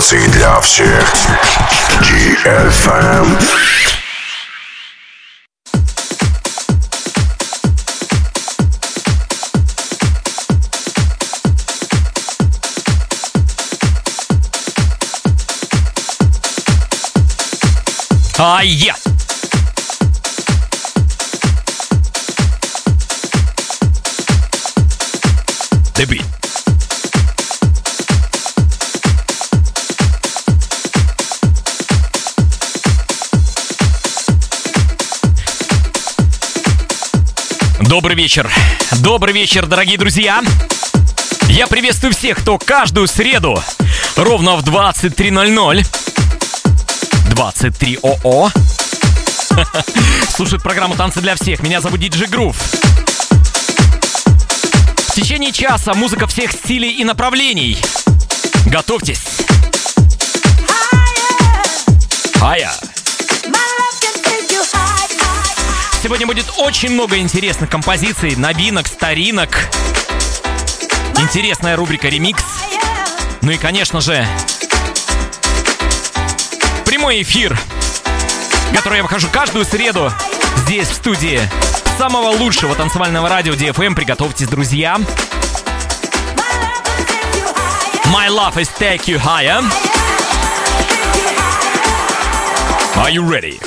Танцы для всех. DFM. Ай-я! The beat. Добрый вечер, дорогие друзья. Я приветствую всех, кто каждую среду ровно в 23:00 23 ОО слушает программу «Танцы для всех». Меня зовут DJ Groove. В течение часа музыка всех стилей и направлений. Готовьтесь. Хая. Сегодня будет очень много интересных композиций, новинок, старинок. Интересная рубрика «Ремикс». Ну и, конечно же, прямой эфир, в который я выхожу каждую среду здесь, в студии самого лучшего танцевального радио DFM. Приготовьтесь, друзья. My love is take you higher. Are you ready?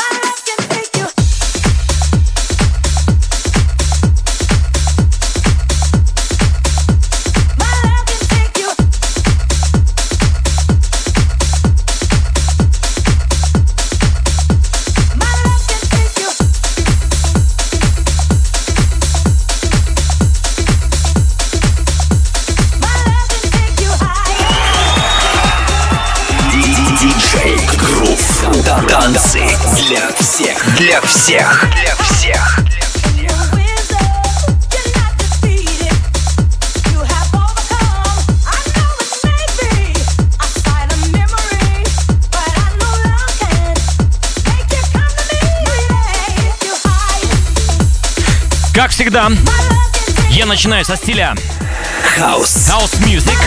Танцы для всех, для всех, для всех. Как всегда, я начинаю со стиля House Music.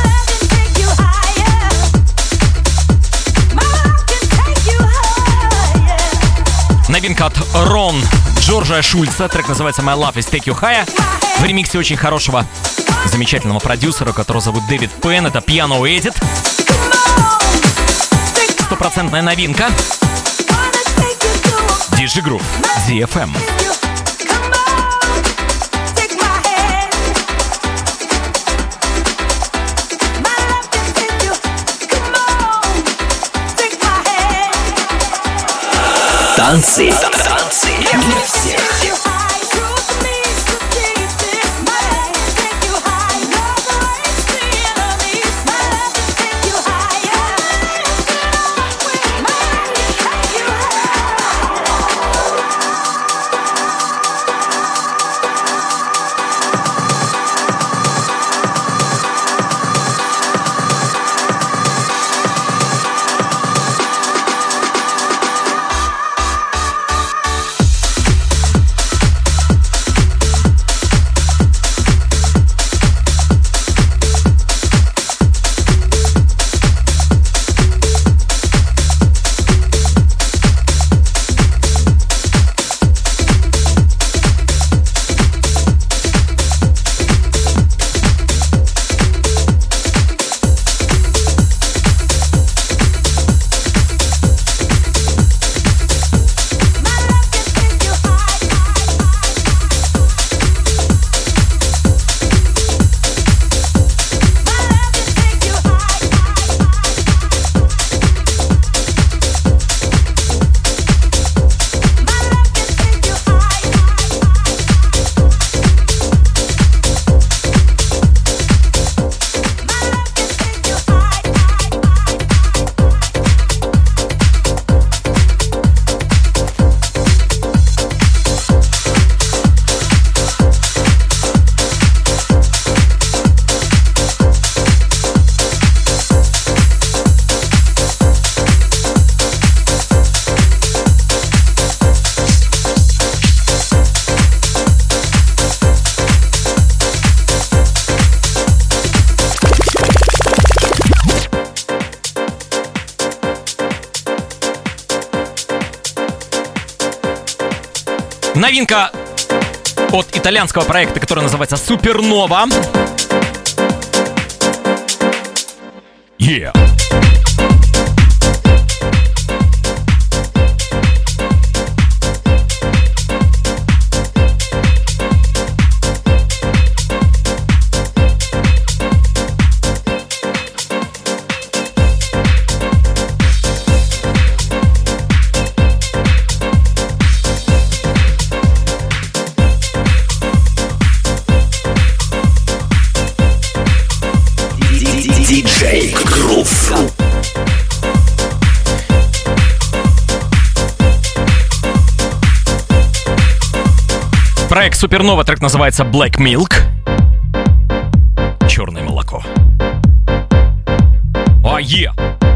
Новинка от Рон Джорджа Шульца. Трек называется My Love is Take You Higher. В ремиксе очень хорошего, замечательного продюсера, которого зовут Дэвид Пен. Это Piano Edit. Стопроцентная новинка. DJ Groove, DFM. Танцы для всех. Новинка от итальянского проекта, который называется Супернова. Yeah. Диджей Грув. Проект Супернова, трек называется Black Milk. Черное молоко. Oh yeah!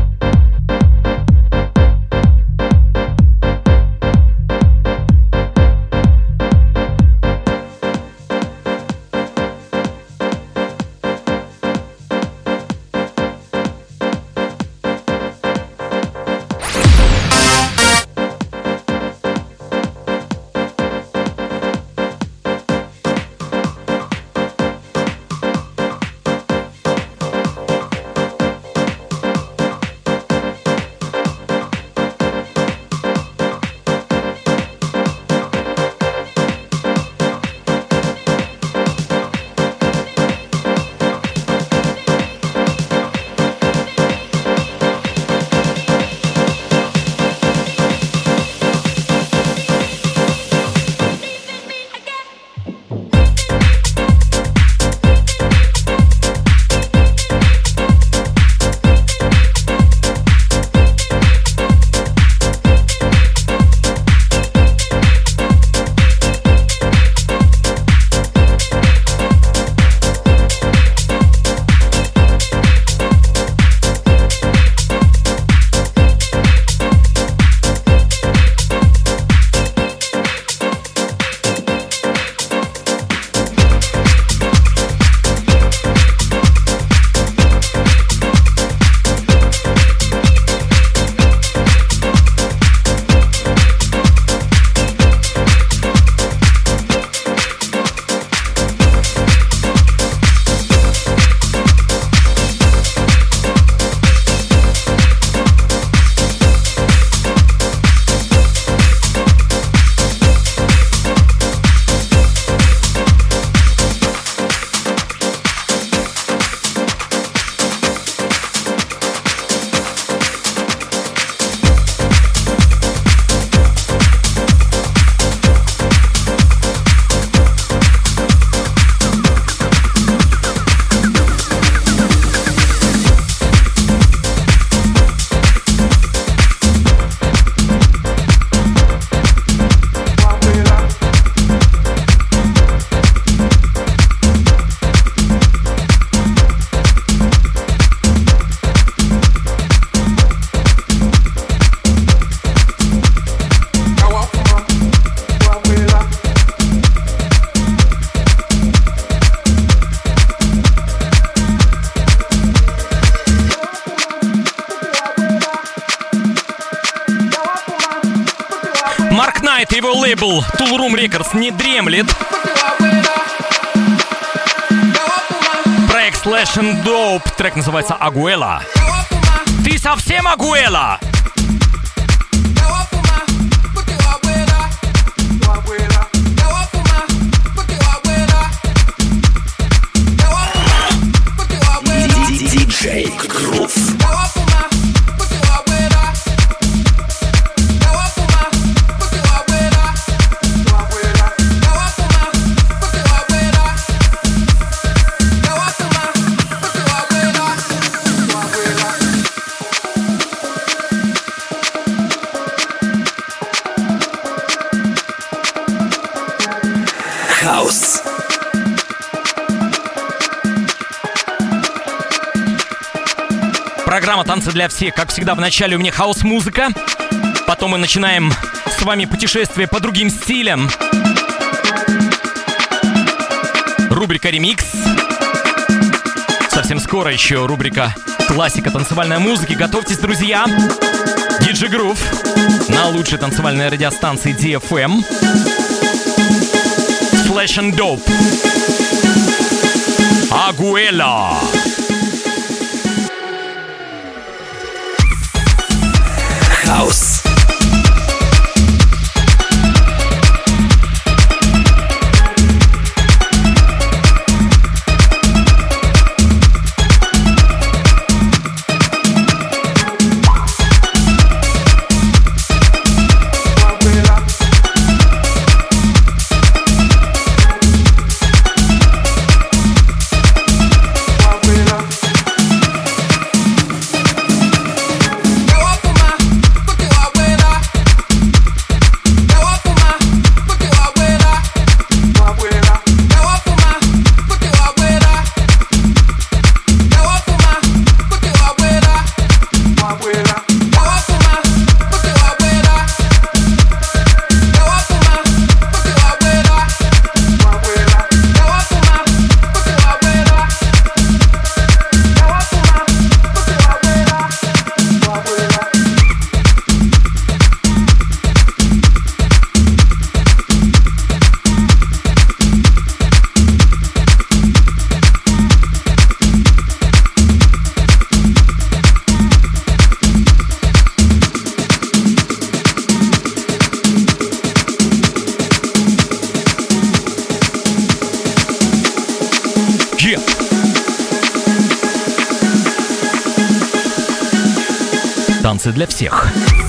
Его лейбл Tool Room Records не дремлет. Проект Slash and Dope. Трек называется Агуэла. Ты совсем Агуэла? Диджей Грув. Хаус. Программа «Танцы для всех». Как всегда, в начале у меня хаус-музыка. Потом мы начинаем с вами путешествие по другим стилям. Рубрика «Ремикс». Совсем скоро еще рубрика «Классика танцевальной музыки». Готовьтесь, друзья. Диджей Грув на лучшей танцевальной радиостанции DFM. Slash and Dope. Агуэла. Хаус. Танцы для всех.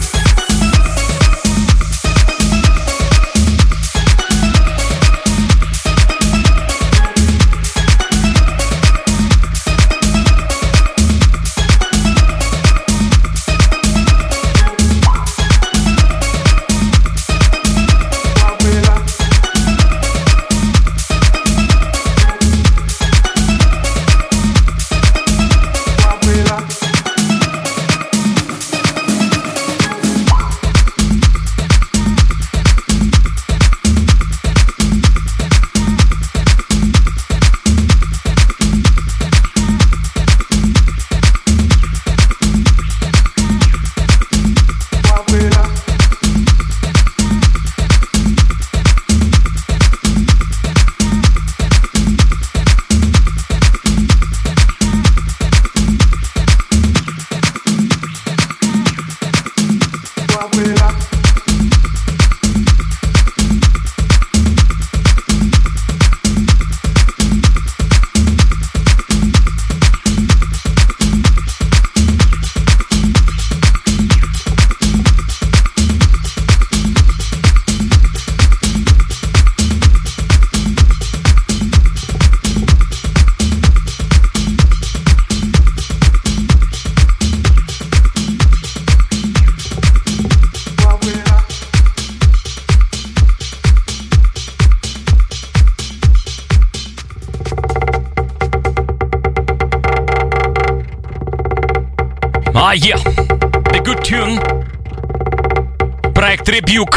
Yeah, The Good Tune. Проект Rebuke.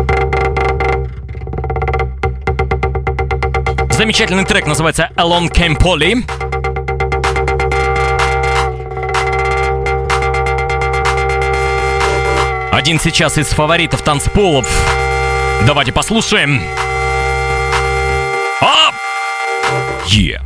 Замечательный трек называется Along Came Polly. Один сейчас из фаворитов танцполов. Давайте послушаем. Yeah.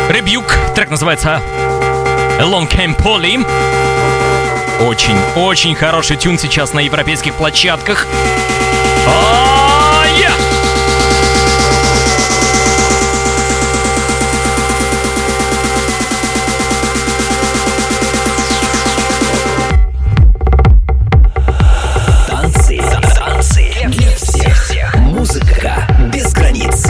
Rebuke. Трек называется Along Came Polly. Очень хороший тюн сейчас на европейских площадках. Танцы для всех. Музыка без границ.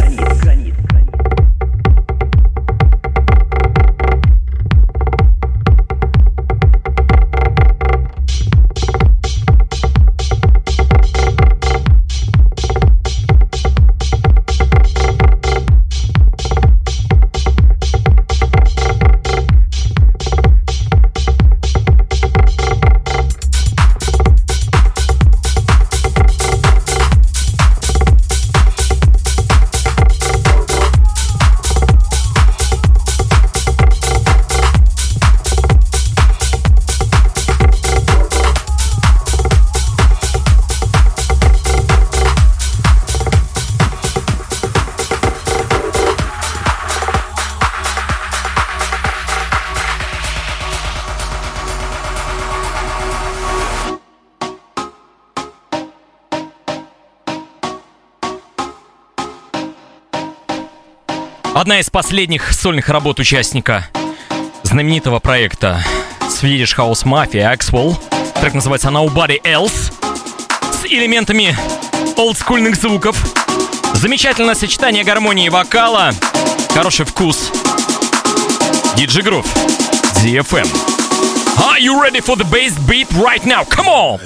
Одна из последних сольных работ участника знаменитого проекта Swedish House Mafia Axwell. Трек называется Nobody Else с элементами олдскульных звуков. Замечательное сочетание гармонии и вокала. Хороший вкус. DJ Groove, DFM. Are you ready for the bass beat right now? Come on!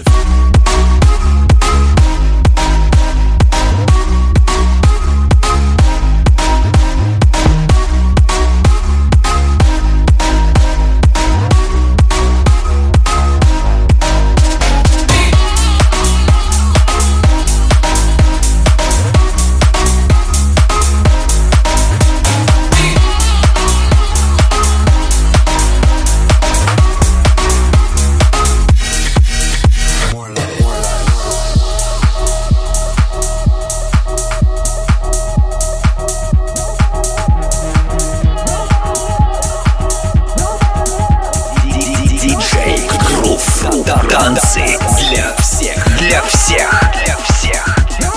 Танцы для всех, для всех, для всех.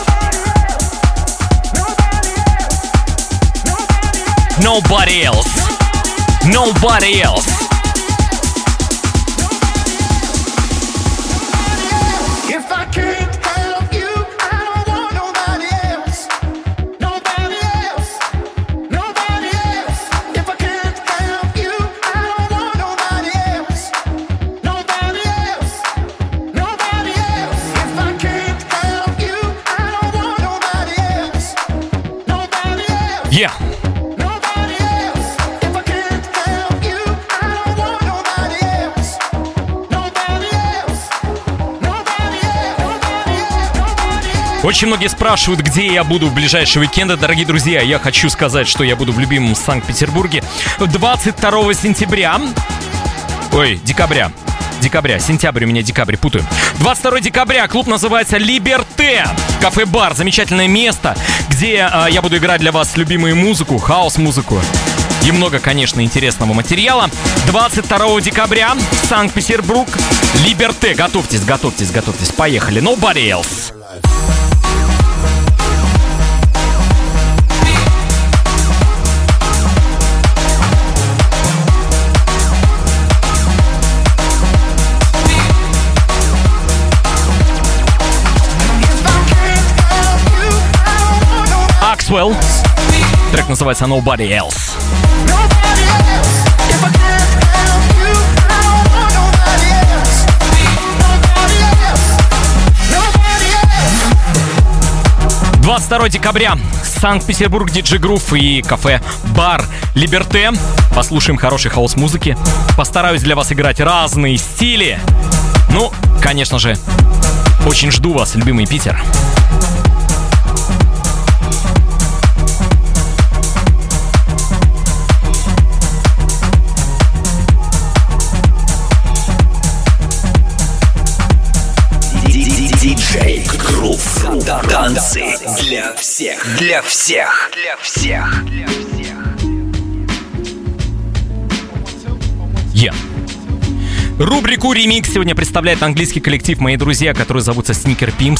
Nobody else. Nobody else. If I can't help you, I don't want nobody else. Nobody else. Nobody else. If I can't help you, I don't want nobody else. Nobody else. Nobody else. If I can't help you, I don't want nobody else. Nobody else. Yeah. Nobody else. If I can't help you, I don't want nobody else. Nobody else. Nobody else. Nobody else. Очень многие спрашивают, где я буду в ближайшие уикенды. Дорогие друзья, я хочу сказать, что я буду в любимом Санкт-Петербурге 22 сентября. Ой, декабря. Сентябрь у меня, декабрь, путаю. 22 декабря, клуб называется Либерте. Кафе-бар, замечательное место, где я буду играть для вас любимую музыку, хаос-музыку. И много, конечно, интересного материала. 22 декабря, Санкт-Петербург, Либерте. Готовьтесь, поехали. Nobody else. Axwell. Трек называется Nobody Else. Nobody else. If I can't help you, I don't want nobody else. Nobody else. Nobody else. 22 декабря. Санкт-Петербург, DJ Groove и кафе-бар Либерте. Послушаем хорошей хаос-музыки. Постараюсь для вас играть разные стили. Ну, конечно же, очень жду вас, любимый Питер. Диджей Грув. Танцы для всех, для всех, для всех, для всех. Рубрику «Ремикс» сегодня представляет английский коллектив, мои друзья, которые зовутся Sneaker Pimps.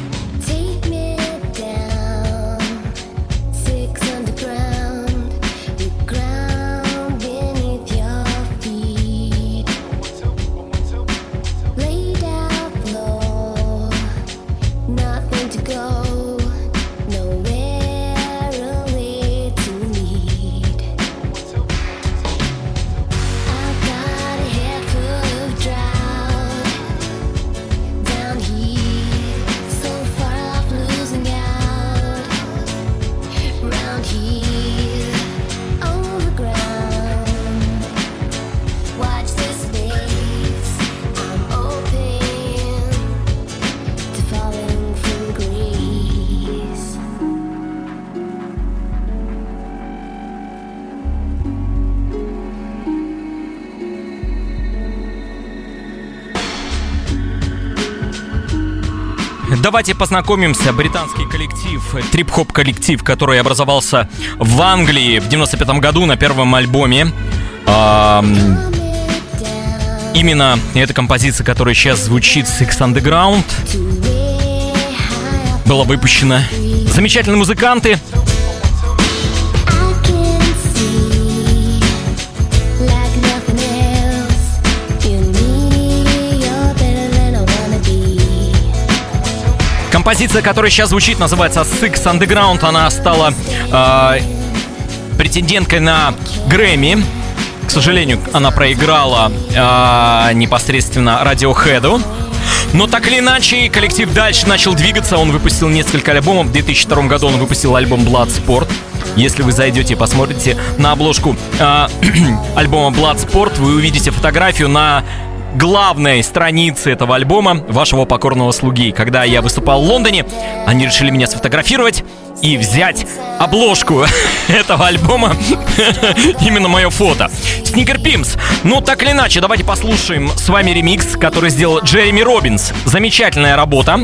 Давайте познакомимся. Британский коллектив, трип-хоп коллектив, который образовался в Англии в 95 году на первом альбоме. Именно эта композиция, которая сейчас звучит, Six Underground, была выпущена. Замечательные музыканты. Композиция, которая сейчас звучит, называется Six Underground. Она стала претенденткой на Грэмми. К сожалению, она проиграла непосредственно Radiohead'у. Но так или иначе, коллектив дальше начал двигаться. Он выпустил несколько альбомов. В 2002 году он выпустил альбом Bloodsport. Если вы зайдете и посмотрите на обложку альбома Bloodsport, вы увидите фотографию на главной странице этого альбома вашего покорного слуги. Когда я выступал в Лондоне, они решили меня сфотографировать и взять обложку этого альбома. Именно мое фото. Sneaker Pimps. Ну, так или иначе, давайте послушаем с вами ремикс, который сделал Джереми Робинс. Замечательная работа.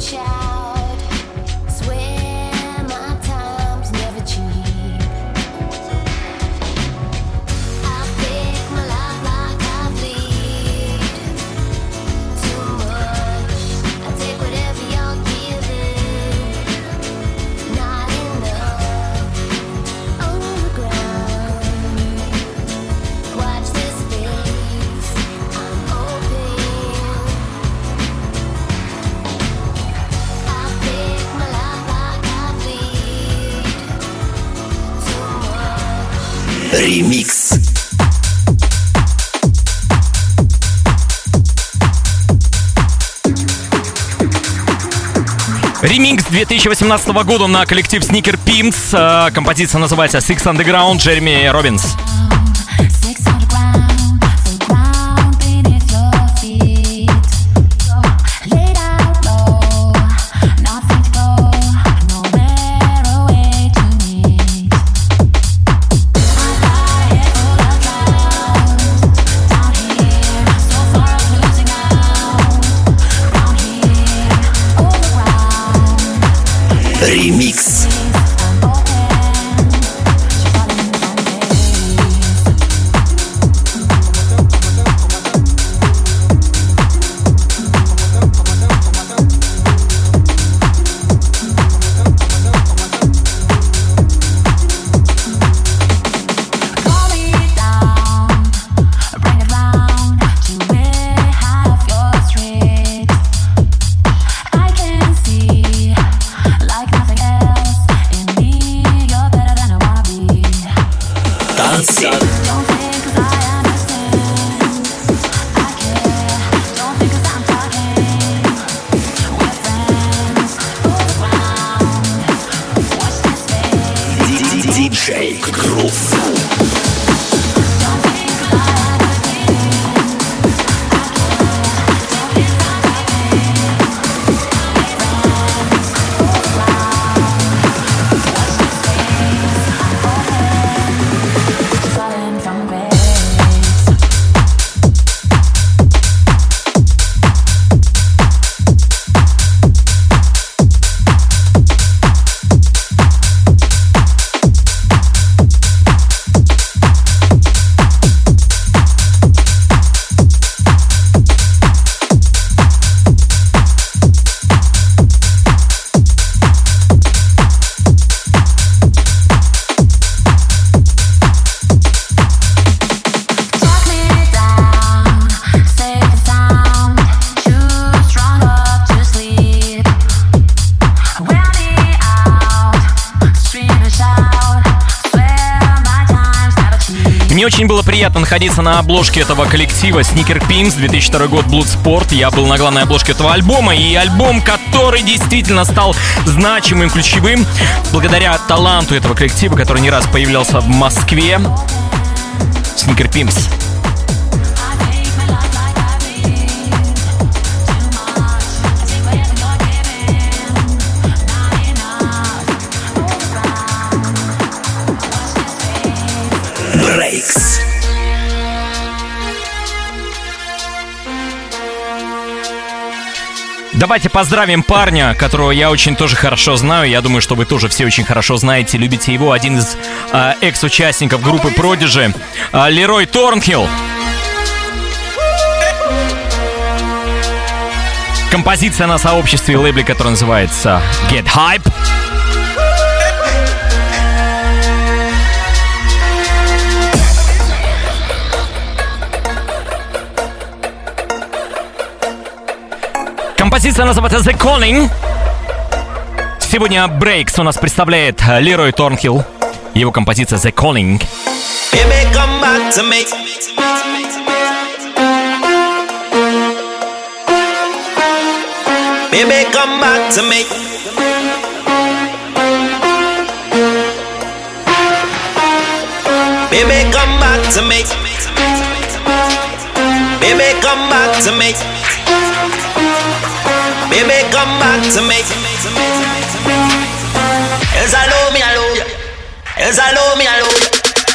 Ремикс. Ремикс 2018 года на коллектив Sneaker Pimps. Композиция называется Six Underground, Джереми Робинс. Ремикс. Очень было приятно находиться на обложке этого коллектива Sneaker Pimps, 2002 год, Bloodsport. Я был на главной обложке этого альбома, и альбом, который действительно стал значимым, ключевым, благодаря таланту этого коллектива, который не раз появлялся в Москве. Sneaker Pimps. Breaks. Давайте поздравим парня, которого я очень тоже хорошо знаю. Я думаю, что вы тоже все очень хорошо знаете, любите его. Один из экс-участников группы Prodigy, Лерой Торнхилл. Композиция на сообществе и лейбле, которая называется Get Hype. Композиция называется The Calling. Сегодня Breaks у нас представляет Лерой Торнхилл. Его композиция The Calling. Baby, come back to me. Baby, come back to me. Baby, come back to me. Baby, come back to me. Baby, come back to me. Yes, I love me, I love you. Yes, I love me, I love you.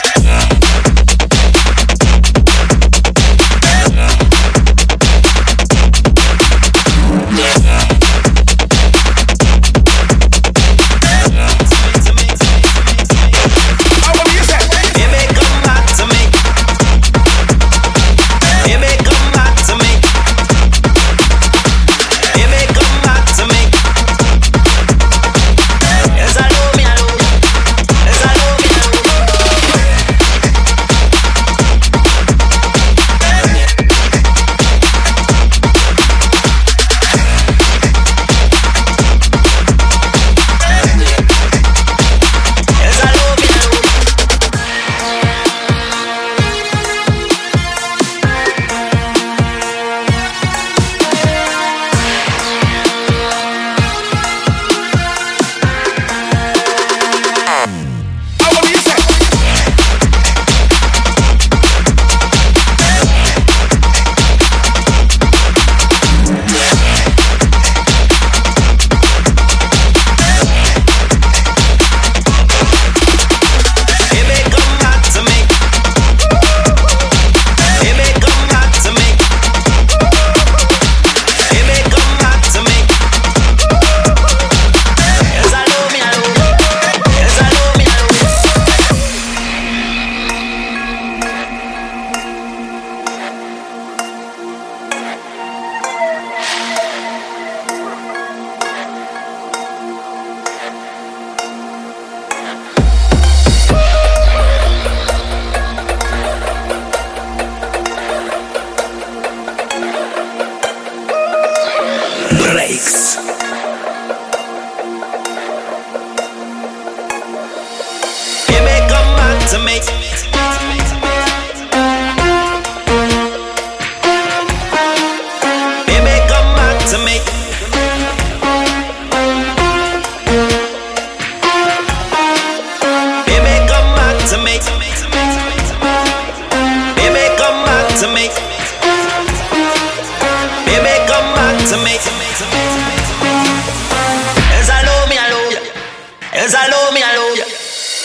Breaks. Baby, come back to me. Baby, come back to me. Baby, come back to me. Baby, come back to me. Baby, come back to me. Yes, I love me, I love you. Yes, I love me, I love you.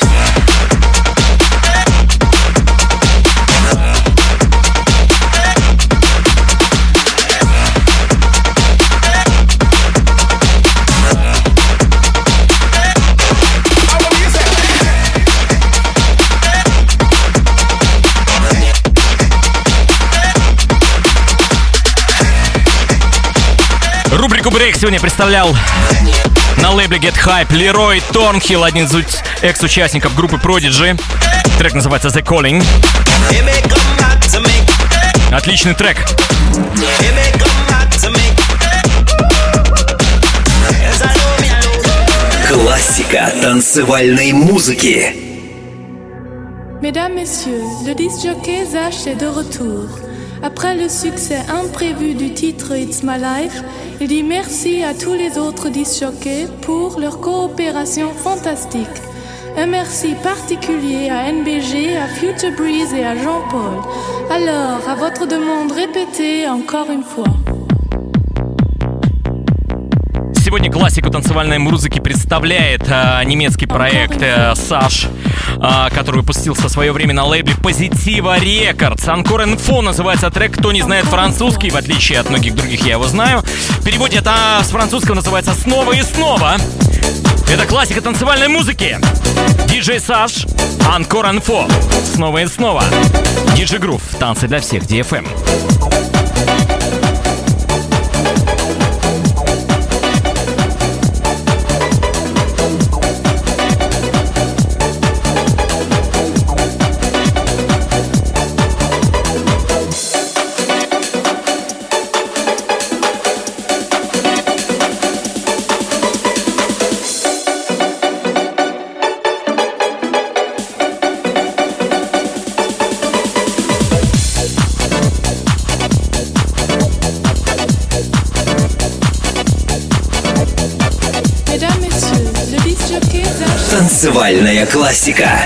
Рубрику Break сегодня представлял на лейбле Get Hype Лерой Торнхилл, один из экс-участников группы Prodigy. Трек называется The Calling. Отличный трек. Классика танцевальной музыки. Mesdames, Messieurs, le disc-jockey Zach est de retour. Après le succès imprévu du titre It's My Life, il dit merci à tous les autres disc-jockeys pour leur coopération fantastique. Un merci particulier à NBG, à Future Breeze et à Jean-Paul. Alors, à votre demande, répétez encore une fois. Сегодня классику танцевальной музыки представляет немецкий проект Саш, который выпустился в свое время на лейбле Positiva Records. Encore une fois называется трек. Кто не знает французский, в отличие от многих других, я его знаю. В переводе это с французского называется «Снова и снова». Это классика танцевальной музыки. DJ Саш, Encore une fois, снова и снова. DJ Groove, танцы для всех, DFM. Танцевальная классика.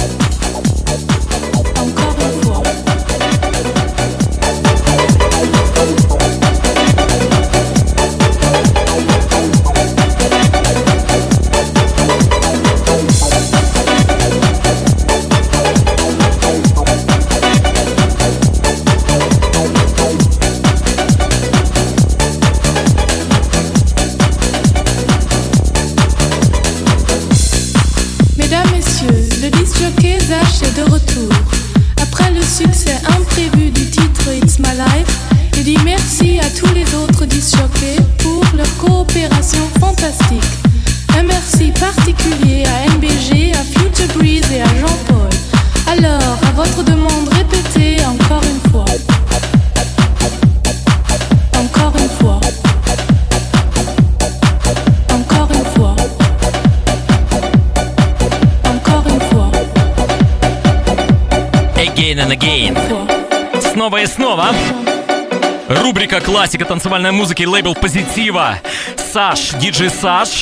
Снова и снова. Рубрика «Классика танцевальной музыки», лейбл Positiva. Саш, диджей Саш.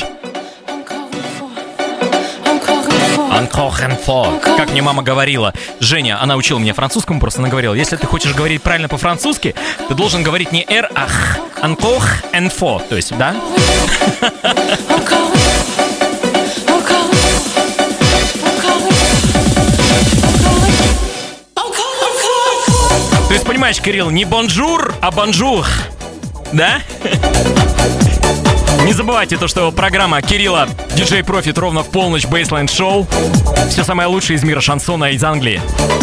Encore une fois. Как мне мама говорила. Женя, она учила меня французскому, просто она говорила, если ты хочешь говорить правильно по-французски, ты должен говорить не «р», а «х». Encore une fois. То есть, да? То есть, понимаешь, Кирилл, не бонжур, а бонжур. Да? Не забывайте то, что программа Кирилла DJ Profit ровно в полночь, Baseline Show. Все самое лучшее из мира шансона из Англии.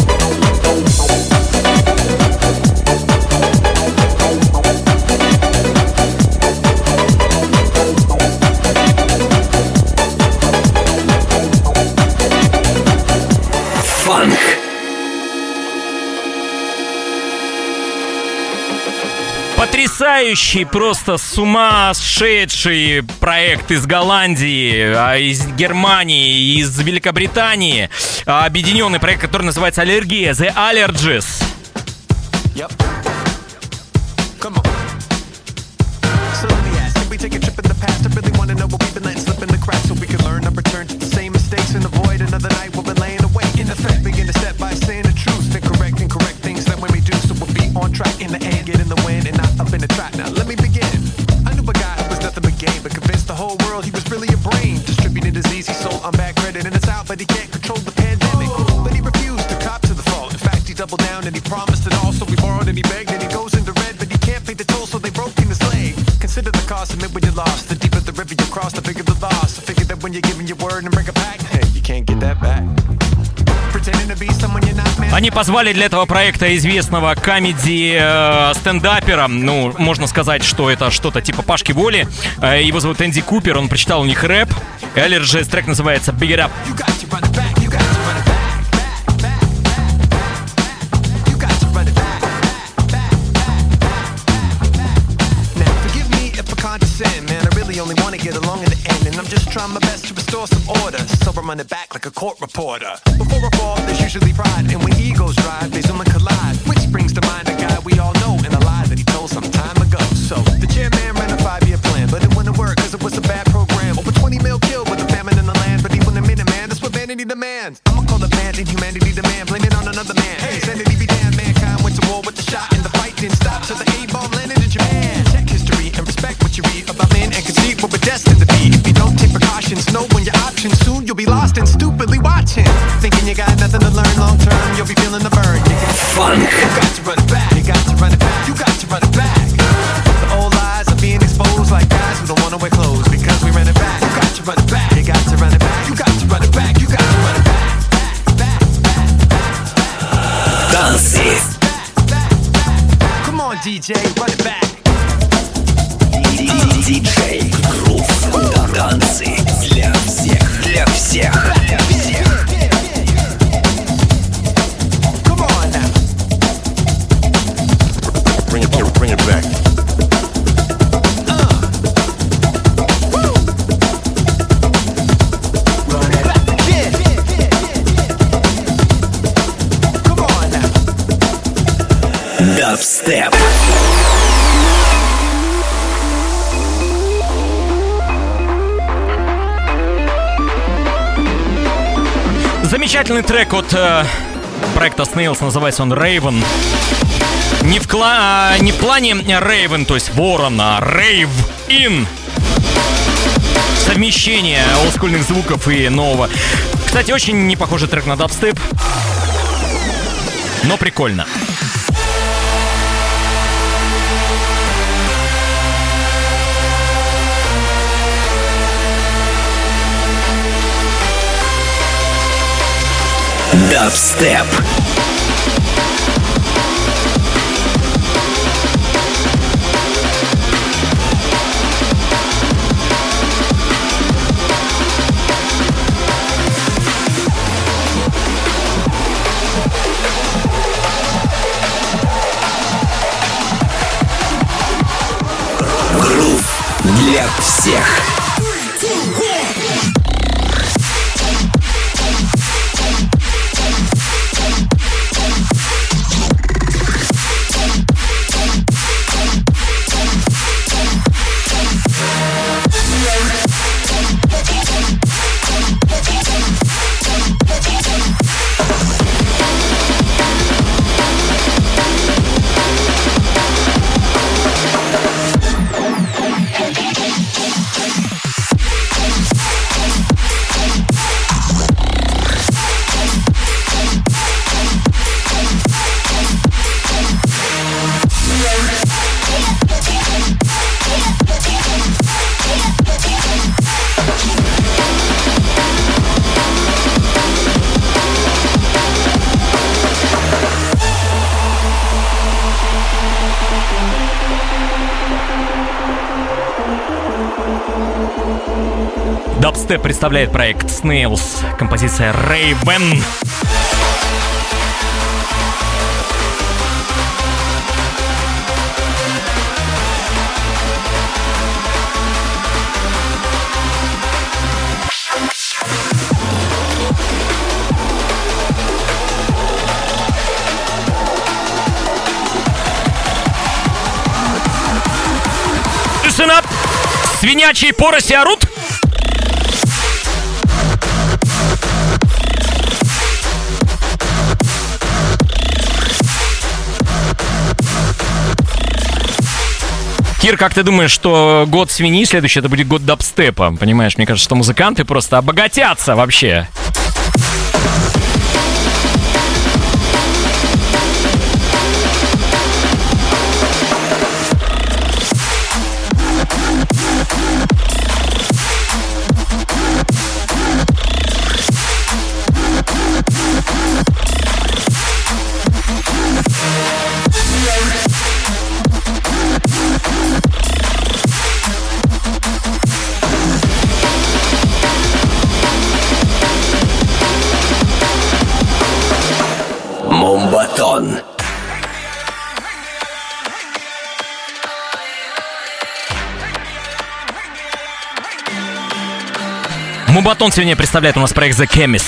Фанк. Потрясающий, просто сумасшедший проект из Голландии, из Германии, из Великобритании. Объединенный проект, который называется «Аллергия», The Allergies. Yep. Come on. So let me ask, can we take a trip in the past? I really want to know what we've been letting slip in the cracks so we can learn not return to the same mistakes and avoid another night we've been laying awake. In effect, begin to step by saying the truth and correct things that when we do, so we'll be on track in the end, get in the wind and not up in the track. Now let me begin. I knew a guy who was nothing but game, but convinced the whole world he was really a brain. Distributed disease, he sold on bad credit in the South, but he can't control the pandemic. But he refused to cop to the fault. In fact, he doubled down and he promised it all, so we borrowed and he begged and he goes into red, but he can't pay the toll, so they broke in his leg. Consider the cost, admit when you lost. The deeper the river you cross, the bigger the loss. So figure that when you're giving your word and bring it back, hey, you can't get that back. Они позвали для этого проекта известного комеди-стендапера. Ну, можно сказать, что это что-то типа Пашки Воли. Его зовут Энди Купер, он прочитал у них рэп. Allergies, трек называется Big It Up. really only want to get along in the end, and I'm just trying my best to restore some order. So I'm running back like a court reporter. Before a fall, there's usually pride, and when egos drive, they zoom and collide. Which brings to mind a guy we all know and a lie that he told some time ago. So the chairman ran a 5-year plan, but it wouldn't work because it was a bad program. Over 20 mil killed with a famine in the land, but even a minute, man, that's what vanity demands. I'ma call it bad inhumanity demand, blame it on another man. Hey, sanity be damned, mankind went to war with the shot, and the fight didn't stop till the A-bomb landed in Japan. Check history and respect what you read about men and conceit what we're destined to be. If you don't take precautions, know when your options, soon you'll be lost and stupidly watching. Thinking you got nothing to learn long term, you'll be feeling the burn. Funk. You got to run it back, you got to run it back, you got to run it back. The old lies are being exposed like guys who don't want to wear clothes because we ran it back. You got to run it back, you got to run it back, you got to run it back, you got to run it back. Танцы. Come on, DJ, run it back. Диджей Грув. Танцы для всех. Для всех. Для всех. Come on now. Bring it back. Run it back again. Come on now. Дабстеп. Замечательный трек от проекта Snails, называется он Raven. Не в плане Raven, то есть ворон, а Rave In. Совмещение олдскульных звуков и нового. Кстати, очень не похожий трек на дабстеп, но прикольно. Дабстеп. Грув для всех. Дабстеп представляет проект Snails, композиция Raven. Listen up! Свинячьи пороси орут? Кир, как ты думаешь, что год свиньи следующий это будет год дабстепа? Понимаешь, мне кажется, что музыканты просто обогатятся вообще. Мумбатон сегодня представляет у нас проект The Chemist.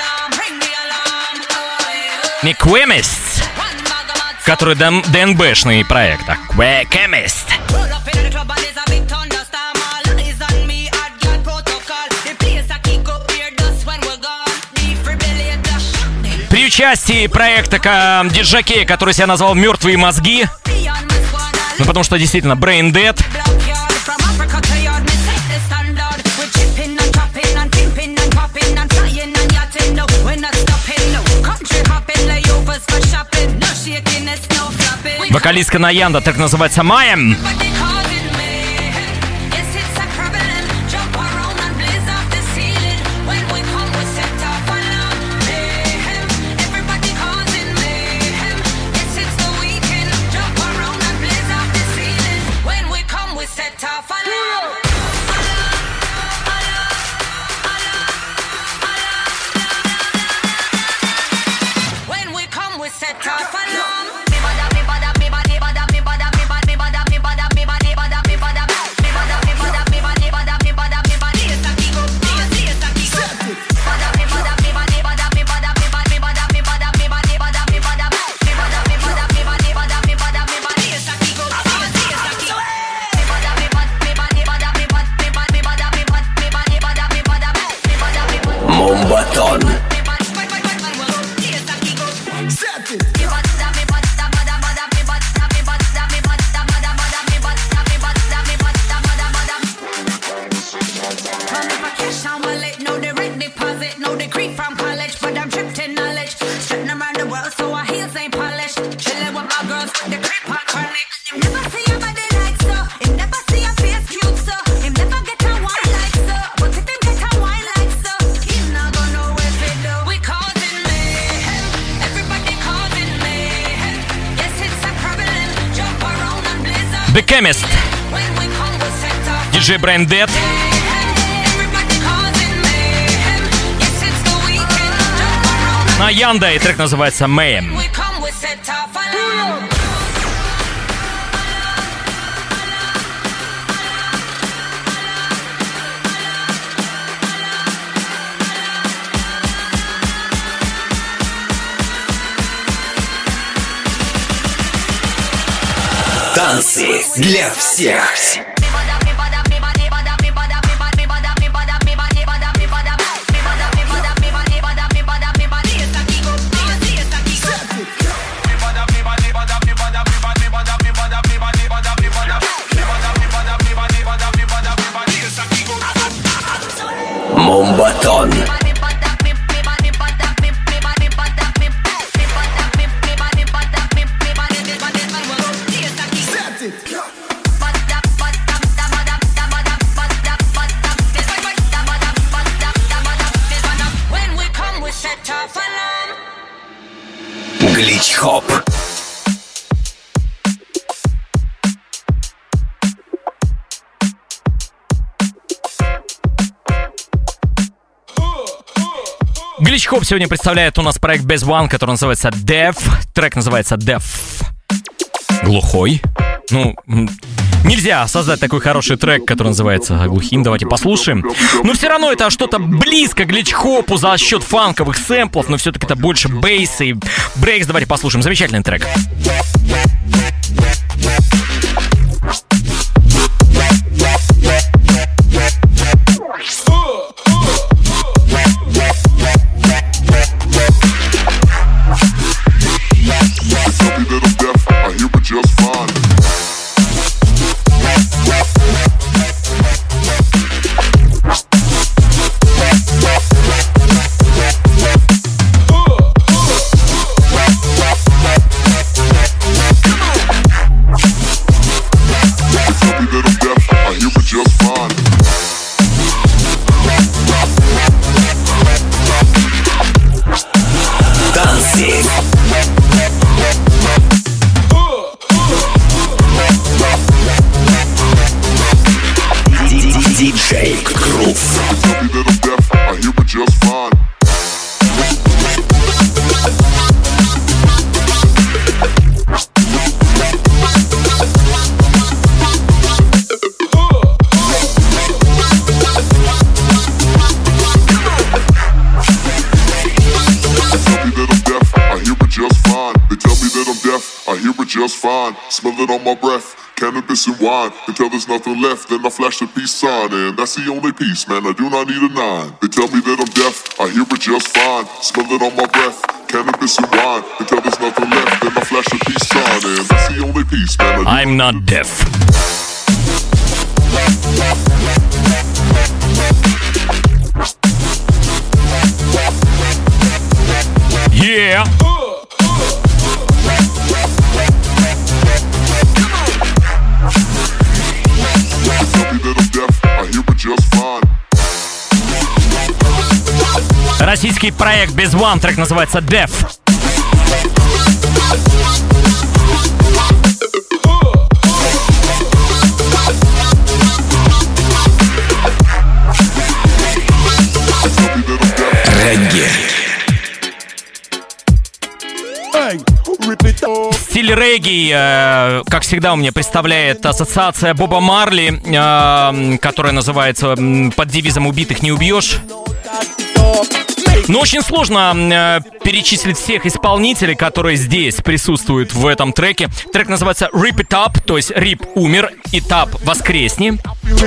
Не Chemist, который ДНБшный проект, а Chemist. При участии проекта диджакея, который себя назвал «Мертвые мозги». Ну, потому что действительно Brain Dead. Вокалистка Наянда, так называется «Майем». The Chemist, DJ Brain Dead. Наянда, и трек называется Mayhem. Танцы для всех. Мумбатон. Глич-хоп. Глич-хоп сегодня представляет у нас проект Best One, который называется Deaf. Трек называется Deaf. Глухой. Ну, нельзя создать такой хороший трек, который называется глухим. Давайте послушаем. Но все равно это что-то близко к глич-хопу за счет фанковых сэмплов, но все-таки это больше бейс и брейкс. Давайте послушаем. Замечательный трек. Диджей Грув. fine. Smell it on my breath, cannabis and wine. Until there's nothing left, then I flash the peace sign. And that's the only peace, man, I do not need a 9. They tell me that I'm deaf, I hear it just fine. Smell it on my breath, cannabis and wine. Until there's nothing left, then I flash the peace sign. And that's the only peace, man, I do I'm not deaf. Yeah. Российский проект без One, трек называется Def. Регги. Стиль регги, как всегда, у меня представляет ассоциация Боба Марли, которая называется под девизом «Убитых не убьешь». Но очень сложно перечислить всех исполнителей, которые здесь присутствуют в этом треке. Трек называется Rip It Up, то есть Рип умер, и Тап воскресни.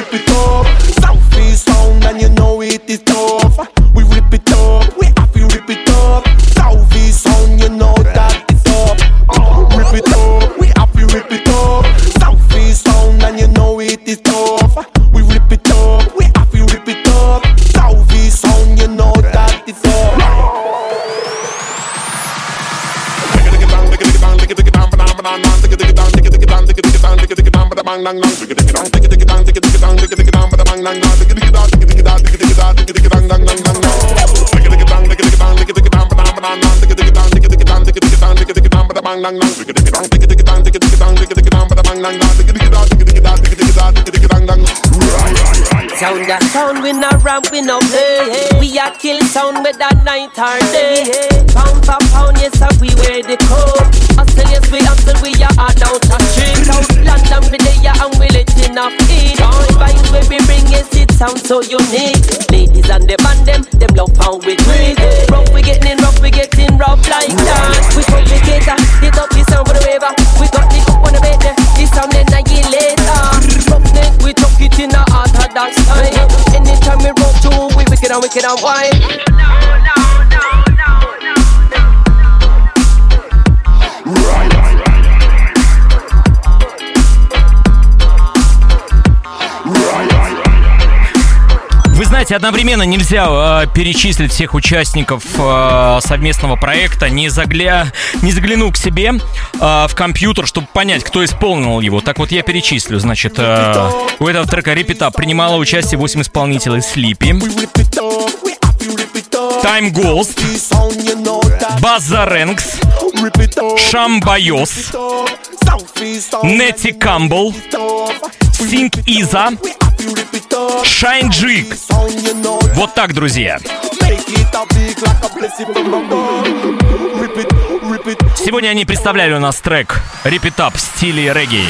Sound we not ramp, we no play. We a kill sound with that night or day. Pound for pound, yes, we wear the code. Hustle, yes, we hustle, we are out now to street. Out London, we there and we letting off it. Join vibes where we bring, yes, it sounds so unique. Ladies and the band, them love how we treat. Rough, we getting rough like that. We complicate, hit up the sound for the waver. We got the cup on the bed, the sound then I get later. Rough neck, we chuck it in the orthodox time. Anytime we rock to, we wicked and wild. Вы знаете, одновременно нельзя перечислить всех участников совместного проекта, не заглянув к себе в компьютер, чтобы понять, кто исполнил его. Так вот, я перечислю. Значит, у этого трека Rip It Up принимало участие 8 исполнителей: Sleepy, Time Ghost, Базаренкс, Шамбайос, Нетти Камбл, Синг Иза, Шайнджик. Вот так, друзья. Сегодня они представляли у нас трек Rip It Up в стиле регги.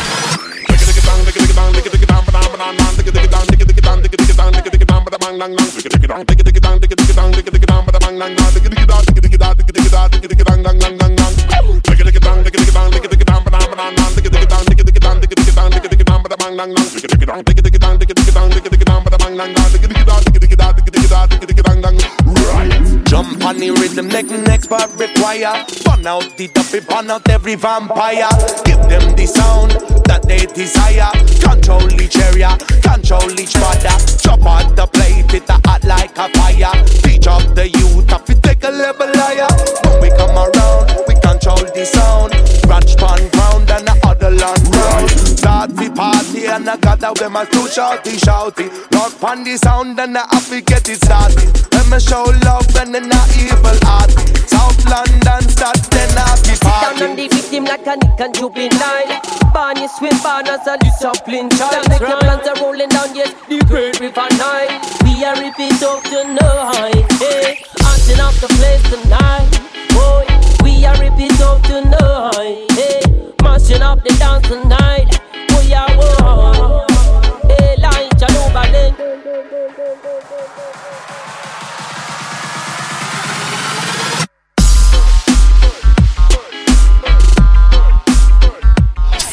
Jump on the rhythm, next part require. Burn out the duffy, burn out every vampire. Give them the sound that they desire. Control each area, control each border. Chop out the plate, it hot like a fire. Teach up the youth, if we take a level higher. When we come around, we control the sound. Branch pan ground and the other land round. Start the party and I got out with my too shouty. Rock pan the sound and I have to get it started. Let me show love and then not evil heart. South London start then I be party. Sit down on the victim like a Nick and juvenile. Barney swim banners and discipline child. Make the plants are rolling down, yes, the great river Nile. We are Rip It Up tonight, hey. Hunting up the place tonight, boy. We are Rip It Up tonight, hey. Mashing up the dance tonight, boy, yeah, whoa. Hey, line, Jalobalin.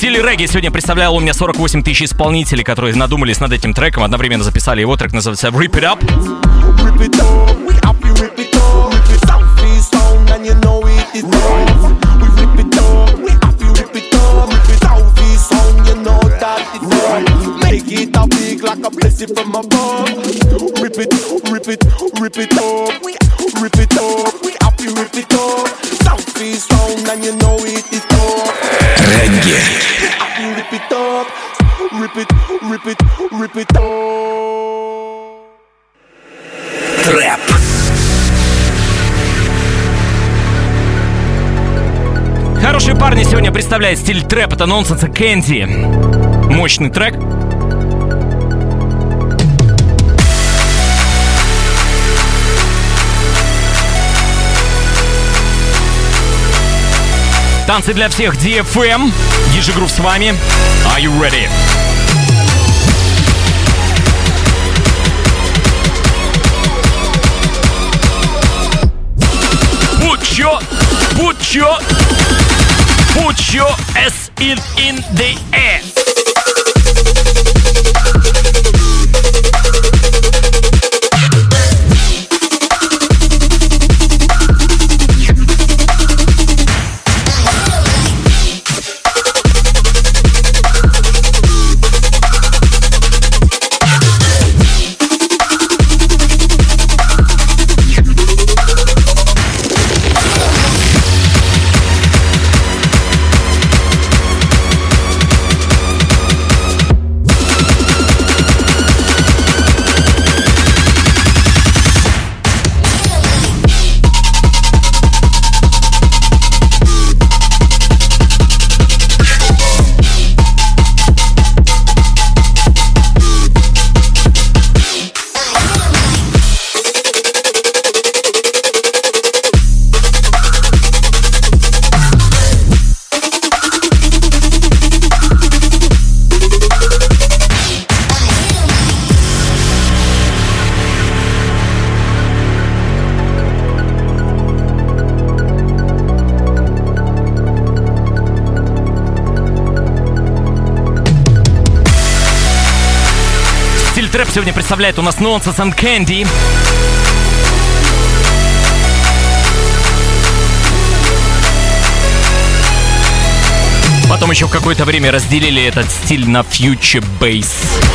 стиле регги сегодня представлял у меня 48 тысяч исполнителей, которые надумались над этим треком, одновременно записали его. Трек называется Rip It Up. Rip it up, we happy rip it up. Rip it Southeast sound and you know it is tough. We rip it up, we happy rip it up. Rip it Southeast sound, you know that it's tough. Make it a big like a blessing from above. Rip it, rip it, rip it up. We rip it up, we happy rip it up. Southeast sound and you know it is tough. Регги. We happy rip it up. Rip it, rip it, rip it up. Трэп. Хорошие парни сегодня представляет стиль трэп. Это Nonsense и Candy. Мощный трек. Танцы для всех, DFM. DJ Groove с вами. Are you ready? Put your ass in the air. Трэп сегодня представляет у нас Nonsense and Candy. Потом еще в какое-то время разделили этот стиль на Future Bass.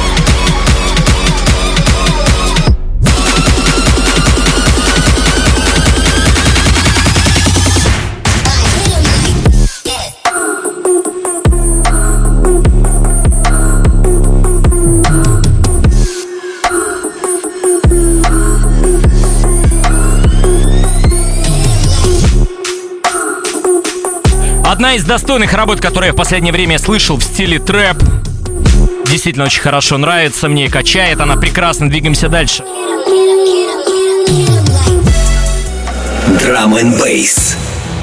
Одна из достойных работ, которые я в последнее время слышал в стиле трэп. Действительно очень хорошо нравится мне, качает она прекрасно. Двигаемся дальше. Drum and Bass.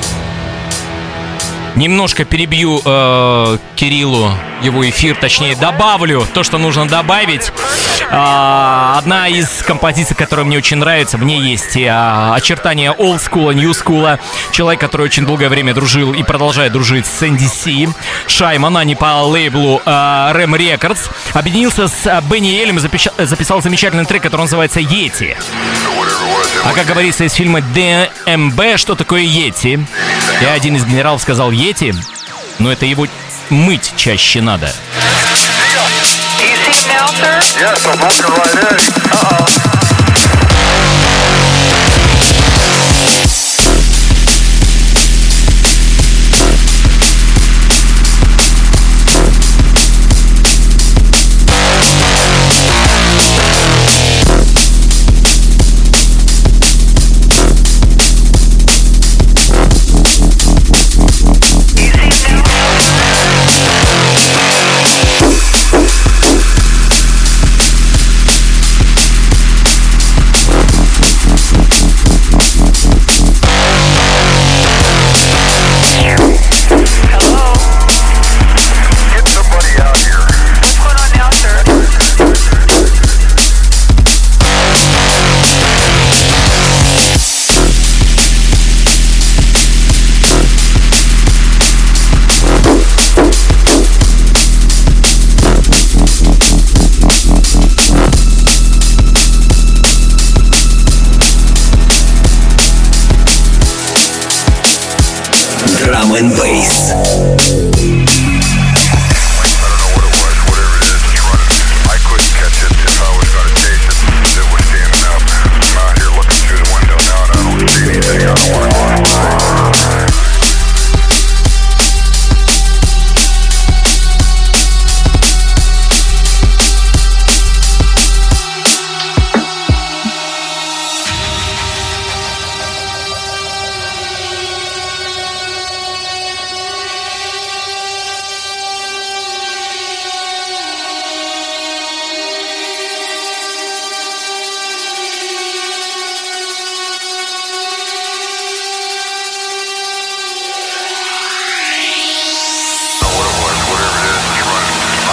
Немножко перебью Кириллу его эфир, точнее добавлю то, что нужно добавить. Одна из композиций, которая мне очень нравится, в ней есть очертания old school, new school. Человек, который очень долгое время дружил и продолжает дружить с NDC, Шайман, а не по лейблу Ram Records, объединился с Бенни Элем и записал замечательный трек, который называется «Йети». А как говорится из фильма ДМБ, что такое Йети? И один из генералов сказал: Йети, но это его мыть чаще надо. Yes, I'm walking right in.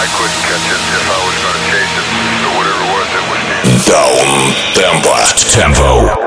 couldn't catch it if I was gonna chase it. So whatever it was, it was near. Down tempo.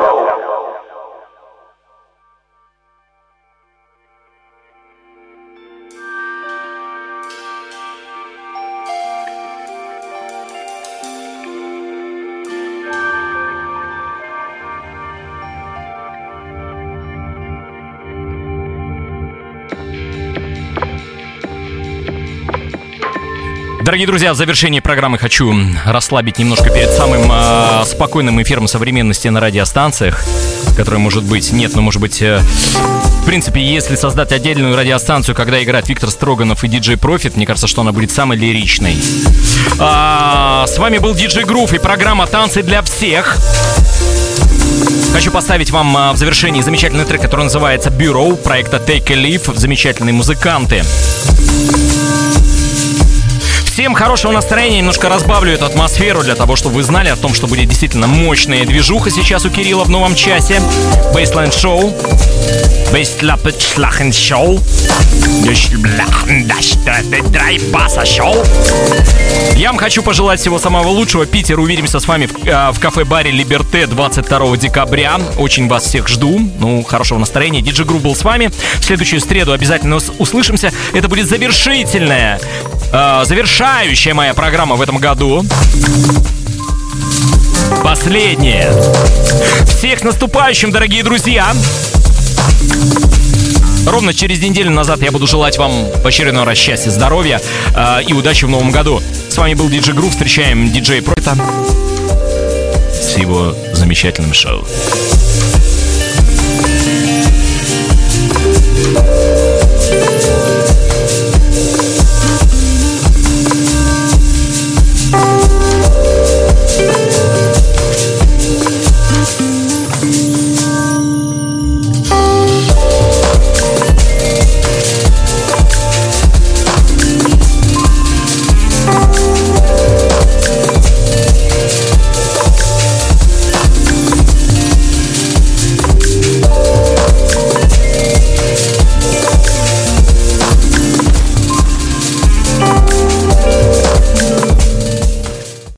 Дорогие друзья, в завершении программы хочу расслабить немножко перед самым спокойным эфиром современности на радиостанциях, который может быть, может быть, в принципе, если создать отдельную радиостанцию, когда играет Виктор Строганов и диджей Профит, мне кажется, что она будет самой лиричной. С вами был диджей Грув и программа «Танцы для всех». Хочу поставить вам в завершении замечательный трек, который называется «Bureau» проекта Take a Leaf. Замечательные музыканты. Всем хорошего настроения, немножко разбавлю эту атмосферу для того, чтобы вы знали о том, что будет действительно мощная движуха сейчас у Кирилла в новом часе. Baseline Show. Baseline Show. Я вам хочу пожелать всего самого лучшего. Питер, увидимся с вами в кафе-баре Либерте 22 декабря. Очень вас всех жду. Хорошего настроения. Диджей Грув был с вами. В следующую среду обязательно услышимся. Это будет завершающая моя программа в этом году. Последняя. Всех с наступающим, дорогие друзья. Ровно через неделю назад я буду желать вам в очередной раз счастья, здоровья и удачи в новом году. С вами был диджей Грув. Встречаем диджея Профита с его замечательным шоу.